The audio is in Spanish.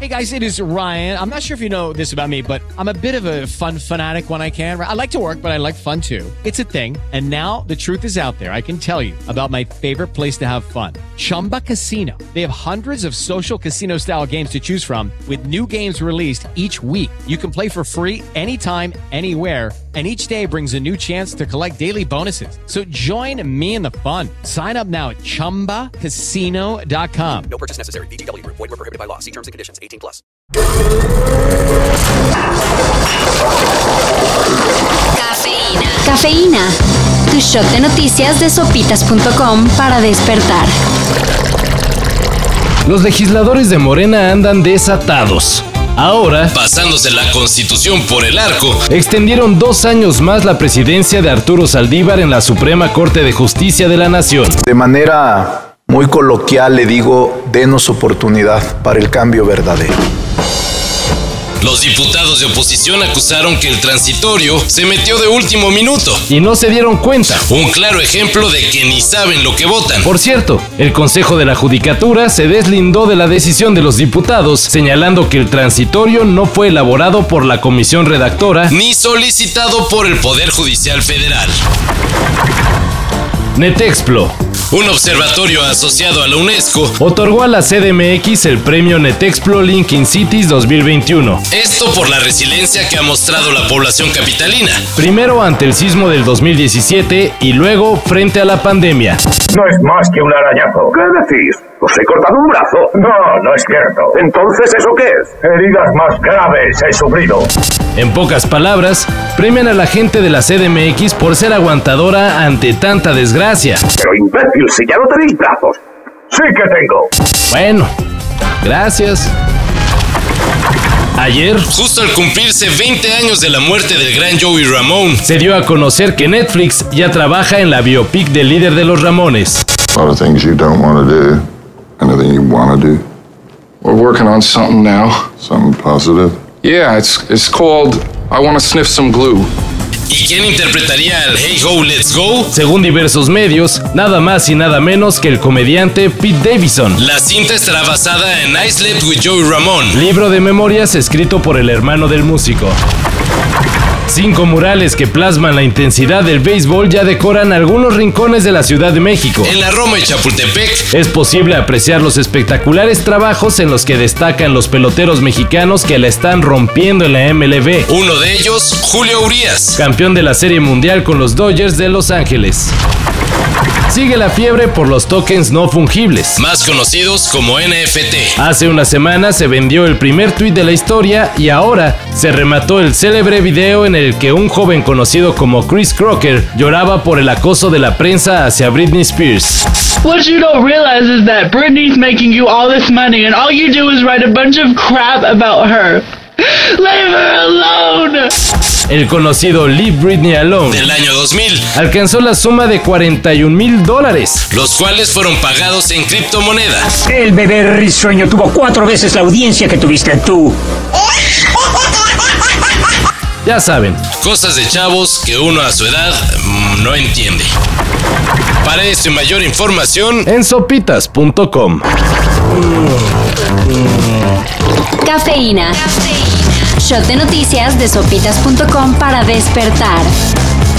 Hey guys, it is Ryan. I'm not sure if you know this about me, but I'm a bit of a fun fanatic when I can. I like to work, but I like fun too. It's a thing. And now the truth is out there. I can tell you about my favorite place to have fun. Chumba Casino. They have hundreds of social casino style games to choose from with new games released each week. You can play for free anytime, anywhere. And each day brings a new chance to collect daily bonuses. So join me in the fun. Sign up now at ChumbaCasino.com. No purchase necessary. VGW Group. Void where prohibited by law. See terms and conditions. 18+. Cafeína. Cafeína. Tu shot de noticias de sopitas.com para despertar. Los legisladores de Morena andan desatados. Ahora, pasándose la Constitución por el arco, extendieron 2 años más la presidencia de Arturo Saldívar en la Suprema Corte de Justicia de la Nación. De manera muy coloquial le digo, denos oportunidad para el cambio verdadero. Los diputados de oposición acusaron que el transitorio se metió de último minuto. Y no se dieron cuenta. Un claro ejemplo de que ni saben lo que votan. Por cierto, el Consejo de la Judicatura se deslindó de la decisión de los diputados, señalando que el transitorio no fue elaborado por la comisión redactora ni solicitado por el Poder Judicial Federal. Netexplo, un observatorio asociado a la UNESCO, otorgó a la CDMX el premio Netexplo Linking Cities 2021. Esto por la resiliencia que ha mostrado la población capitalina. Primero ante el sismo del 2017 y luego frente a la pandemia. No es más que un arañazo. ¿Qué decís? ¿Os he cortado un brazo? No, no es cierto. Entonces, ¿eso qué es? Heridas más graves he sufrido. En pocas palabras, premian a la gente de la CDMX por ser aguantadora ante tanta desgracia. Pero imbécil, si ya no tenéis brazos. Sí que tengo. Bueno, gracias. Ayer, justo al cumplirse 20 años de la muerte del gran Joey Ramone, se dio a conocer que Netflix ya trabaja en la biopic del líder de los Ramones. A lot of things you don't want to do, anything you want to do. We're working on something now. Something positive? Yeah, it's called I Want to Sniff Some Glue. ¿Y quién interpretaría al Hey Ho, Let's Go? Según diversos medios, nada más y nada menos que el comediante Pete Davidson. La cinta estará basada en I Slept with Joey Ramone, libro de memorias escrito por el hermano del músico. 5 murales que plasman la intensidad del béisbol ya decoran algunos rincones de la Ciudad de México. En la Roma y Chapultepec es posible apreciar los espectaculares trabajos en los que destacan los peloteros mexicanos que la están rompiendo en la MLB. Uno de ellos, Julio Urías, campeón de la Serie Mundial con los Dodgers de Los Ángeles. Sigue la fiebre por los tokens no fungibles, más conocidos como NFT. Hace una semana se vendió el primer tuit de la historia y ahora se remató el célebre video en el que un joven conocido como Chris Crocker lloraba por el acoso de la prensa hacia Britney Spears. What you don't realize is that Britney's making you all this money and all you do is write a bunch of crap about her. Leave her alone. El conocido Leave Britney Alone del año 2000 alcanzó la suma de $41,000, los cuales fueron pagados en criptomonedas. El bebé risueño tuvo 4 veces la audiencia que tuviste tú. Ya saben, cosas de chavos que uno a su edad no entiende. Para esto y mayor información en sopitas.com. Cafeína. Shot de noticias de sopitas.com para despertar.